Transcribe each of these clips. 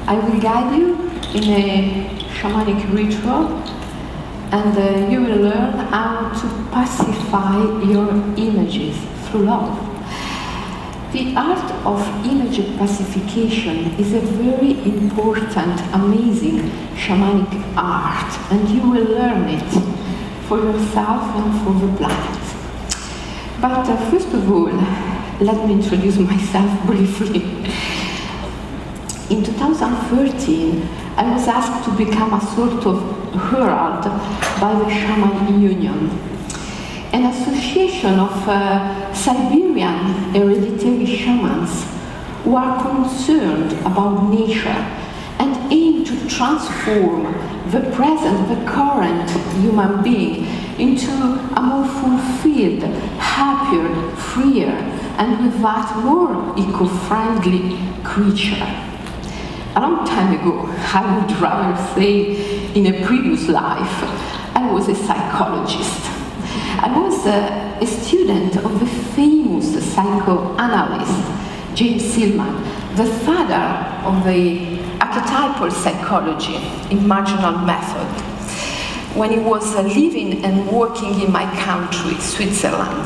I will guide you in a shamanic ritual, and you will learn how to pacify your images through love. The art of image pacification is a very important, amazing shamanic art, and you will learn it for yourself and for the planet. But first of all, let me introduce myself briefly. In 2013, I was asked to become a sort of herald by the Shaman Union, an association of Siberian hereditary shamans who are concerned about nature and aim to transform the present, the current human being into a more fulfilled, happier, freer, and with that more eco-friendly creature. A long time ago, I would rather say in a previous life, I was a psychologist. I was a student of the famous psychoanalyst James Hillman, the father of the archetypal psychology in marginal method, when he was living and working in my country, Switzerland.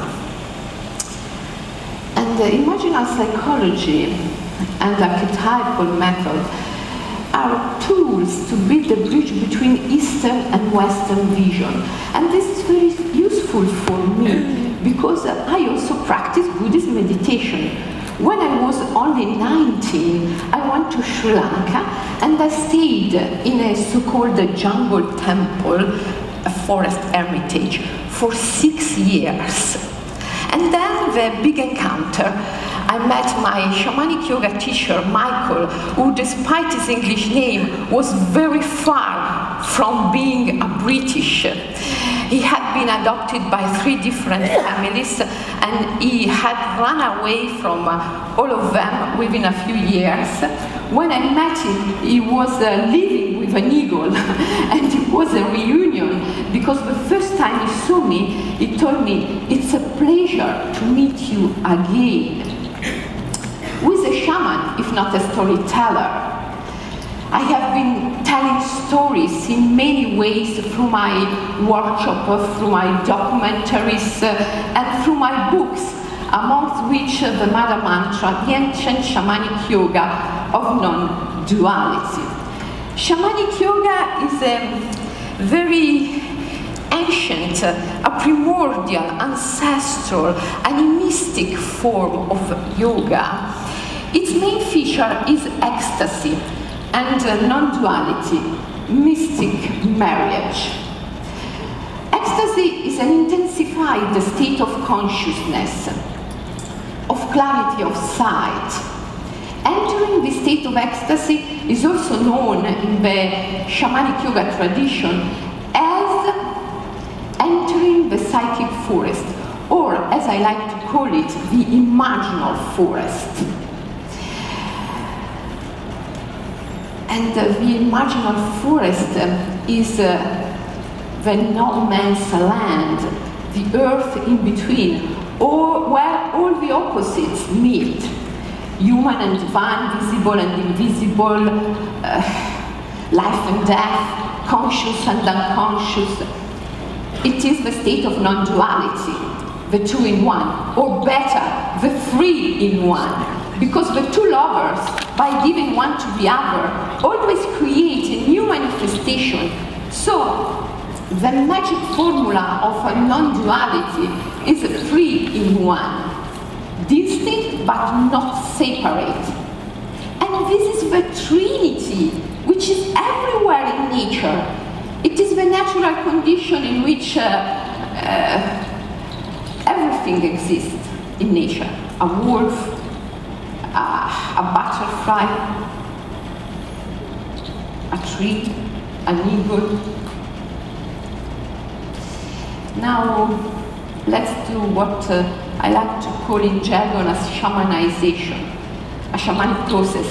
And imaginal psychology and archetypal method are tools to build a bridge between Eastern and Western vision. And this is very useful for me because I also practice Buddhist meditation. When I was only 19, I went to Sri Lanka and I stayed in a so-called jungle temple, a forest hermitage, for 6 years. And then the big encounter. I met my shamanic yoga teacher, Michael, who, despite his English name, was very far from being a British. He had been adopted by 3 different families, and he had run away from all of them within a few years. When I met him, he was living with an eagle, and it was a reunion, because the first time he saw me, he told me, "It's a pleasure to meet you again." Who is a shaman, if not a storyteller? I have been telling stories in many ways through my workshop, through my documentaries, and through my books, amongst which the Mother Mantra, the ancient shamanic yoga of non-duality. Shamanic yoga is a very ancient, a primordial, ancestral, animistic form of yoga. Its main feature is ecstasy and non-duality, mystic marriage. Ecstasy is an intensified state of consciousness, of clarity of sight. Entering the state of ecstasy is also known in the shamanic yoga tradition as entering the psychic forest, or as I like to call it, the imaginal forest. And the imaginal forest is the no man's land, the earth in between, or where all the opposites meet. Human and divine, visible and invisible, life and death, conscious and unconscious. It is the state of non-duality, the 2 in 1, or better, the 3 in 1. Because the 2 lovers, by giving one to the other, always create a new manifestation. So, the magic formula of a non-duality is 3 in 1. Distinct but not separate. And this is the Trinity, which is everywhere in nature. It is the natural condition in which everything exists in nature. A wolf, a butterfly, a tree, an eagle. Now, let's do what I like to call in jargon as shamanization, a shamanic process.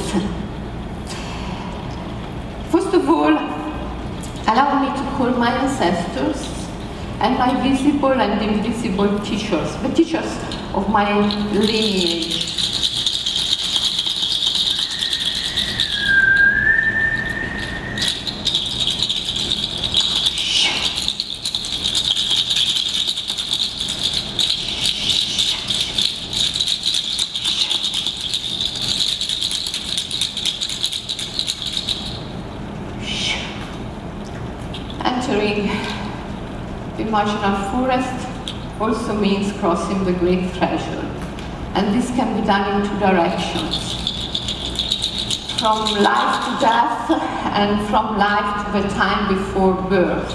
First of all, allow me to call my ancestors and my visible and invisible teachers, the teachers of my lineage. entering the imaginal forest also means crossing the great threshold. And this can be done in two directions. From life to death and from life to the time before birth.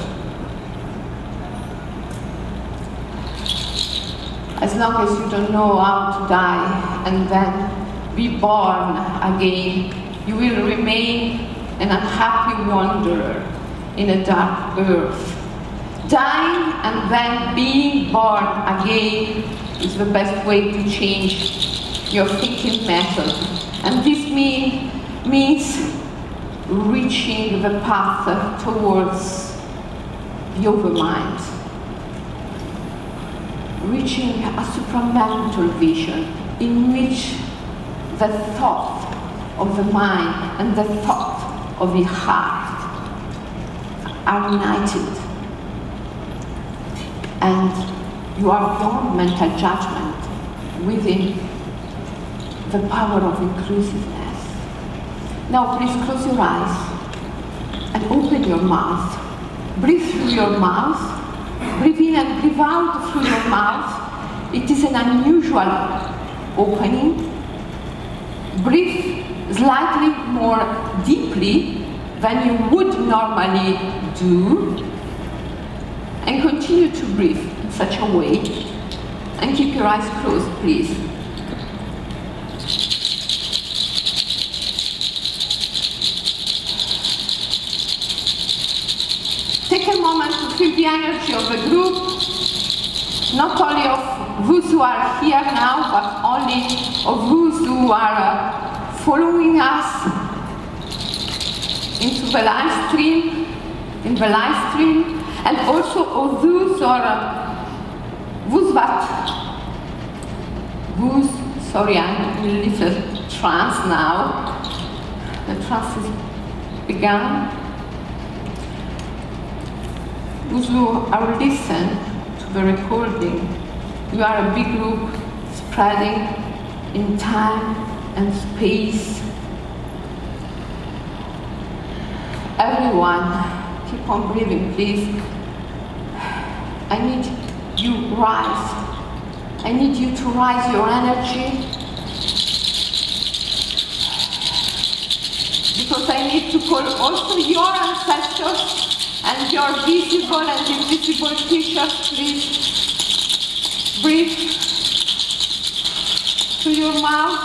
As long as you don't know how to die and then be born again, you will remain an unhappy wanderer in a dark earth. Dying and then being born again is the best way to change your thinking method. And this means reaching the path towards the overmind. Reaching a supramental vision in which the thought of the mind and the thought of the heart are united. And you are beyond mental judgment within the power of inclusiveness. Now please close your eyes and open your mouth. Breathe through your mouth. Breathe in and breathe out through your mouth. It is an unusual opening. Breathe slightly more deeply than you would normally do. And continue to breathe in such a way. And keep your eyes closed, please. Take a moment to feel the energy of the group, not only of those who are here now, but only of those who are following us into the live stream, and also of those sorry, I'm in a little trance now. The trance is begun. Those who are listening to the recording, you are a big group spreading in time and space. Everyone, keep on breathing, please. I need you rise. I need you to rise your energy. Because I need to call also your ancestors and your visible and invisible teachers, please. Breathe through your mouth.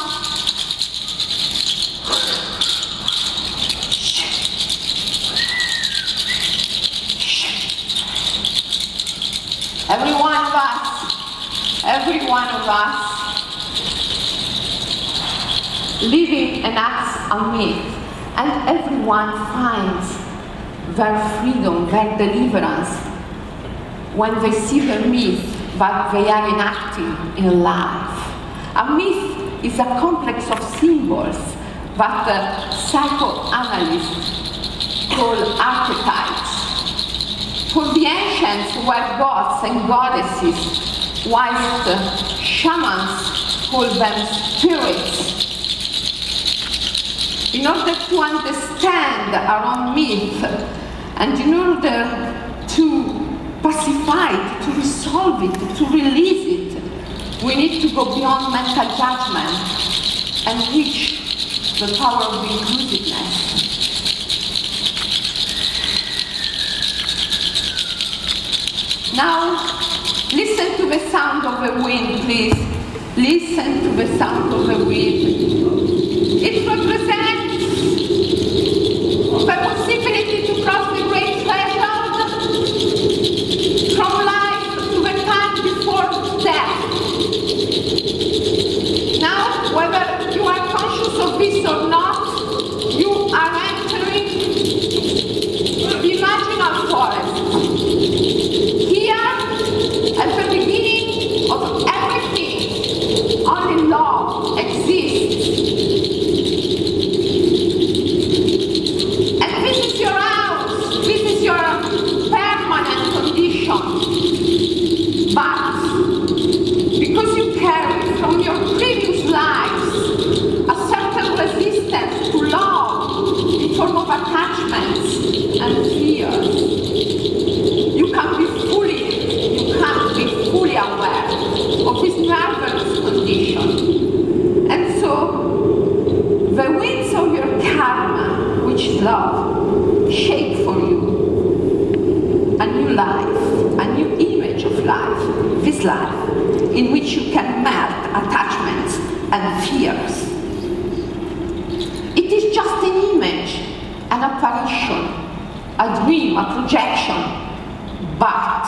Every one of us living enacts a myth, and everyone finds their freedom, their deliverance, when they see the myth that they are enacting in life. A myth is a complex of symbols that psychoanalysts call archetypes. For the ancients were gods and goddesses, whilst shamans call them spirits. In order to understand our own myth, and in order to pacify it, to resolve it, to release it, we need to go beyond mental judgment and reach the power of inclusiveness. Now, listen to the sound of the wind, please. Listen to the sound of the wind. It represents the possibility to cross the great threshold from life to the time before death. Now, whether you are conscious of this or not, you are entering the imaginal forest. Here, at the beginning of everything, only love exists. love shape for you a new life, a new image of life, this life, in which you can melt attachments and fears. It is just an image, an apparition, a dream, a projection, but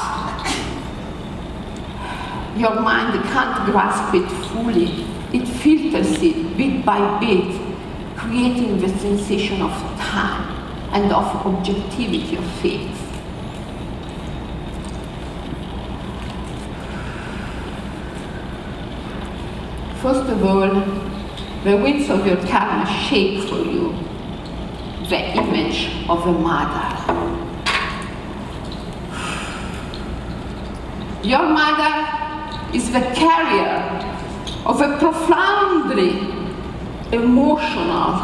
your mind can't grasp it fully. It filters it bit by bit, creating the sensation of time and of objectivity of faith. First of all, the winds of your karma shape for you the image of a mother. Your mother is the carrier of a profoundly emotional,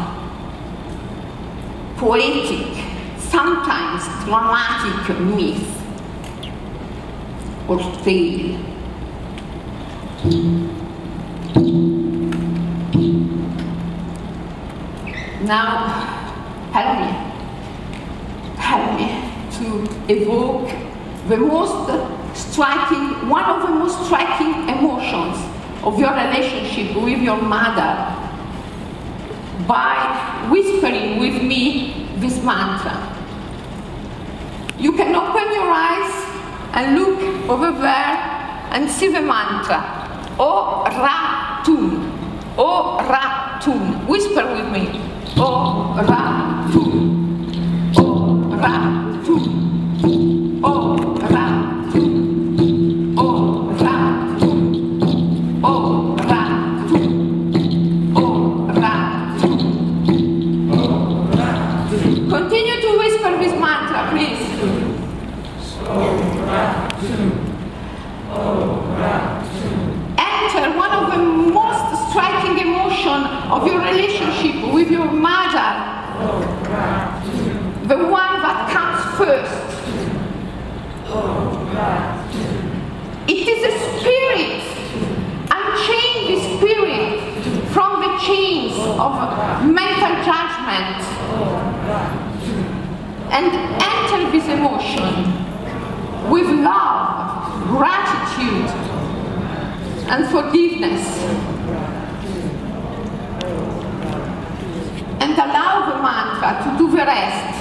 poetic, sometimes dramatic myth or tale. Now, help me to evoke the most striking, one of the most striking emotions of your relationship with your mother by whispering with me this mantra. You can open your eyes and look over there and see the mantra. O Ra-Tun. O Ra-Tun. Whisper with me. O Ra-Tun. O Ra-Tun. O Ra-Tun. O Ra-Tun. O Ra-Tun. O Ra-Tun. Continue to whisper this mantra, please. O Ra-Tun. O Ra-Tun. Enter one of the most striking emotions of your relationship with your mother, the one that comes first. It is a spirit. Unchain the spirit from the chains of mental judgment and enter this emotion with love, gratitude, and forgiveness. And allow the mantra to do the rest.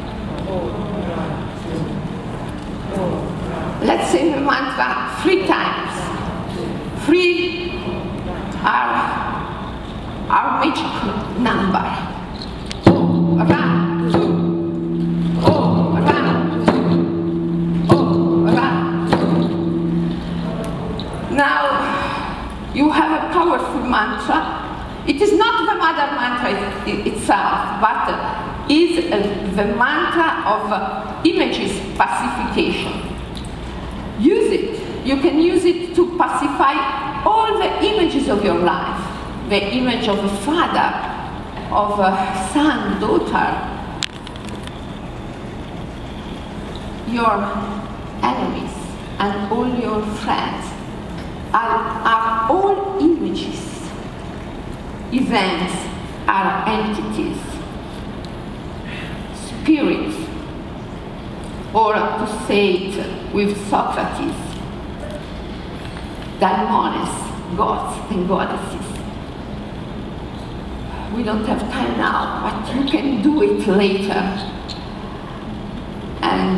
Let's say the mantra 3 times. 3 are our magic number. O Ra-Tun. O Ra-Tun. O Ra-Tun. Now, you have a powerful mantra. It is not the mother mantra itself, but is the mantra of images pacification. Use it. You can use it to pacify all the images of your life. The image of a father, of a son, daughter, your enemies, and all your friends are all images. Events are entities, spirits, or to say it with Socrates, daimones, gods and goddesses. We don't have time now, but you can do it later. And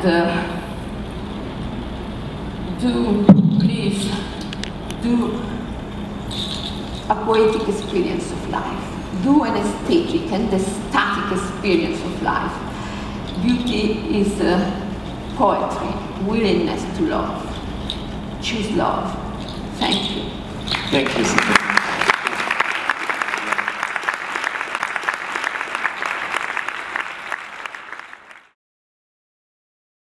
please, do a poetic experience of life. Do an aesthetic and ecstatic experience of life. Beauty is poetry, willingness to love. Choose love. Thank you. Thank you.